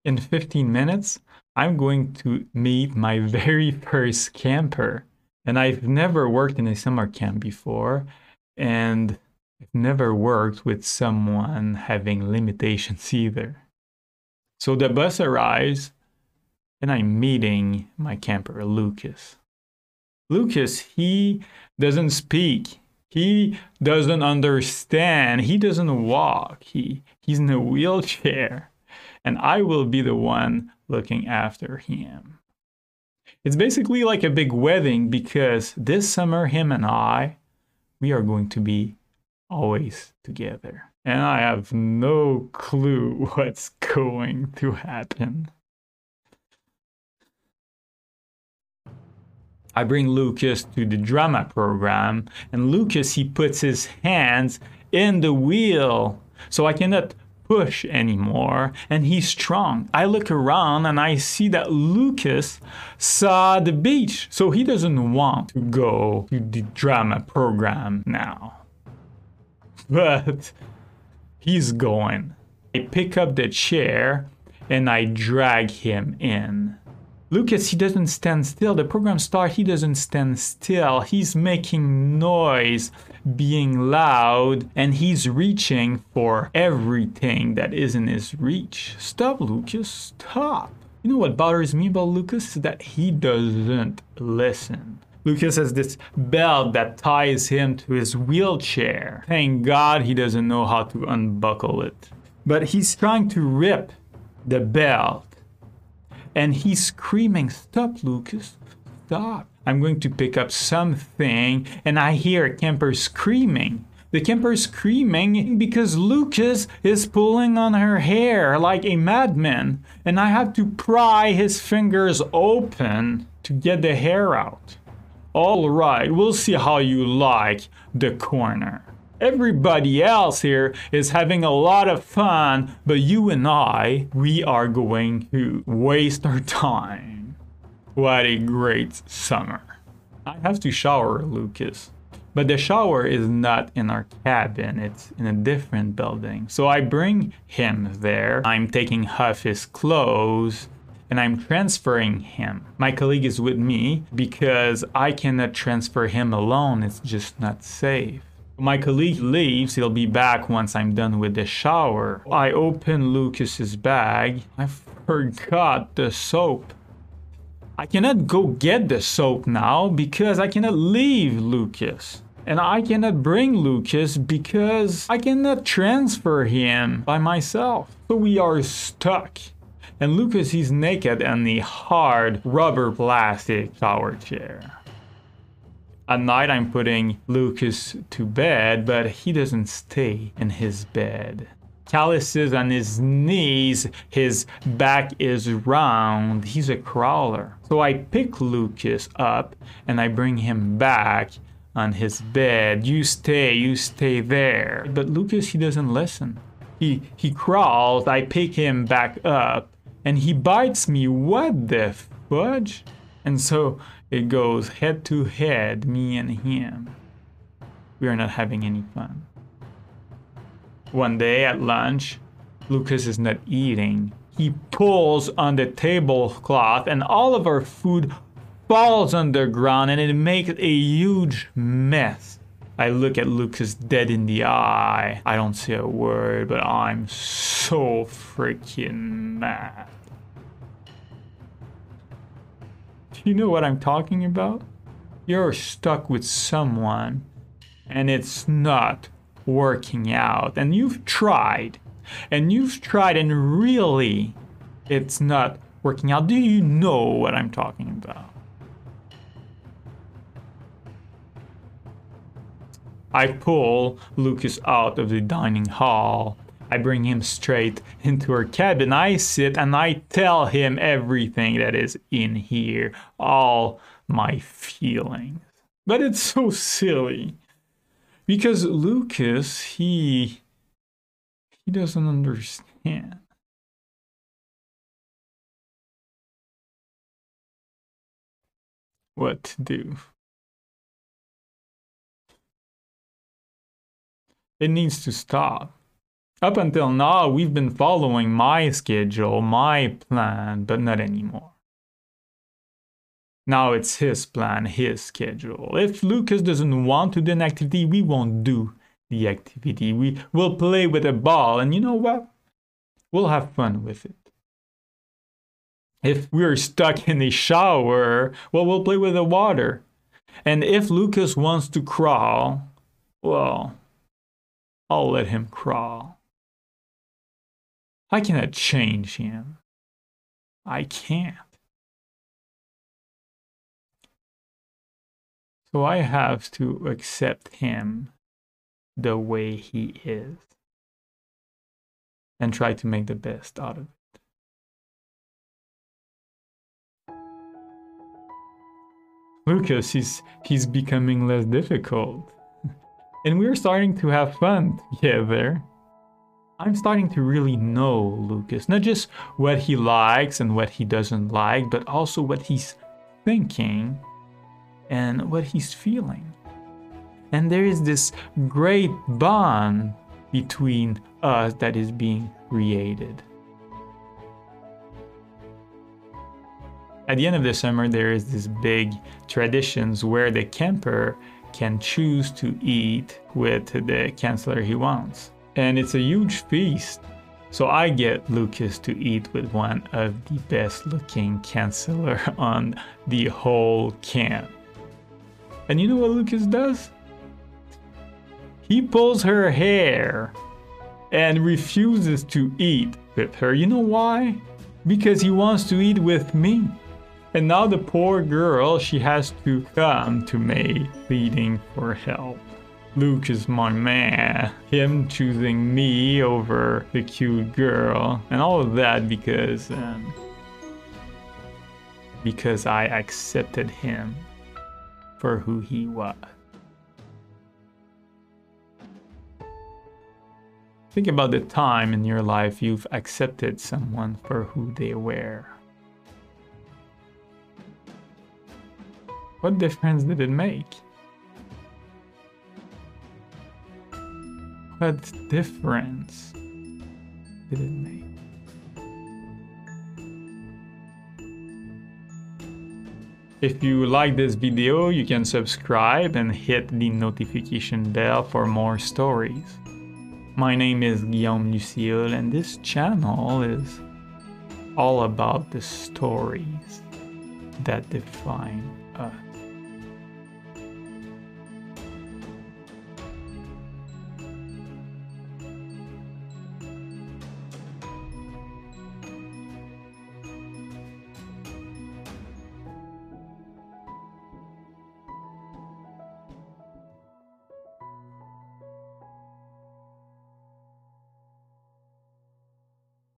In 15 minutes, I'm going to meet my very first camper. And I've never worked in a summer camp before, and I've never worked with someone having limitations either. So the bus arrives, and I'm meeting my camper, Lucas. Lucas, he doesn't speak. He doesn't understand. He doesn't walk. He's in a wheelchair. And I will be the one looking after him. It's basically like a big wedding because this summer, him and I, we are going to be always together. And I have no clue what's going to happen. I bring Lucas to the drama program, and Lucas, he puts his hands in the wheel. So I cannot push anymore, and he's strong. I look around and I see that Lucas saw the beach, so he doesn't want to go to the drama program now. But he's going. I pick up the chair and I drag him in. Lucas, he doesn't stand still. The program starts, he doesn't stand still. He's making noise, being loud, and he's reaching for everything that is in his reach. Stop, Lucas, stop. You know what bothers me about Lucas? Is that he doesn't listen. Lucas has this belt that ties him to his wheelchair. Thank God he doesn't know how to unbuckle it. But he's trying to rip the belt. And he's screaming, "Stop, Lucas, stop." I'm going to pick up something, and I hear a camper screaming. The camper is screaming because Lucas is pulling on her hair like a madman, and I have to pry his fingers open to get the hair out. All right, we'll see how you like the corner. Everybody else here is having a lot of fun, but you and I, we are going to waste our time. What a great summer. I have to shower Lucas, but the shower is not in our cabin, it's in a different building. So I bring him there. I'm taking off his clothes and I'm transferring him. My colleague is with me because I cannot transfer him alone, it's just not safe. My colleague leaves, he'll be back once I'm done with the shower. I open Lucas's bag. I forgot the soap. I cannot go get the soap now because I cannot leave Lucas. And I cannot bring Lucas because I cannot transfer him by myself. So we are stuck. And Lucas, he's naked in the hard rubber plastic shower chair. At night, I'm putting Lucas to bed, but he doesn't stay in his bed. Calluses on his knees, his back is round, he's a crawler. So I pick Lucas up and I bring him back on his bed. You stay there. But Lucas, he doesn't listen. He crawls, I pick him back up, and he bites me. What the fudge? And so it goes head to head, me and him. We are not having any fun. One day at lunch, Lucas is not eating. He pulls on the tablecloth and all of our food falls on the ground and it makes a huge mess. I look at Lucas dead in the eye. I don't say a word, but I'm so freaking mad. You know what I'm talking about? You're stuck with someone and it's not working out, and you've tried and really it's not working out. Do you know what I'm talking about? I pull Lucas out of the dining hall. I bring him straight into our cabin. I sit and I tell him everything that is in here, all my feelings. But it's so silly because Lucas, he doesn't understand. What to do. It needs to stop. Up until now, we've been following my schedule, my plan, but not anymore. Now it's his plan, his schedule. If Lucas doesn't want to do an activity, we won't do the activity. We will play with a ball, and you know what? We'll have fun with it. If we're stuck in a shower, well, we'll play with the water. And if Lucas wants to crawl, well, I'll let him crawl. I cannot change him. I can't. So I have to accept him the way he is and try to make the best out of it. Lucas, he's becoming less difficult. And we're starting to have fun together. I'm starting to really know Lucas, not just what he likes and what he doesn't like, but also what he's thinking and what he's feeling. And there is this great bond between us that is being created. At the end of the summer, there is this big traditions where the camper can choose to eat with the counselor he wants. And it's a huge feast. So I get Lucas to eat with one of the best looking counselor on the whole camp. And you know what Lucas does? He pulls her hair and refuses to eat with her. You know why? Because he wants to eat with me. And now the poor girl, she has to come to me pleading for help. Luke is my man. Him choosing me over the cute girl. And all of that because I accepted him for who he was. Think about the time in your life you've accepted someone for who they were. What difference did it make? What difference did it make? If you like this video, you can subscribe and hit the notification bell for more stories. My name is Guillaume Lucille, and this channel is all about the stories that define us.